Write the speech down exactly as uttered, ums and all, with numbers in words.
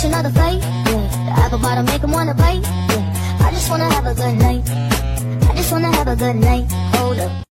catch another fight, yeah. The apple bottom make him wanna bite, yeah. I just wanna have a good night. I just wanna have a good night. Hold up.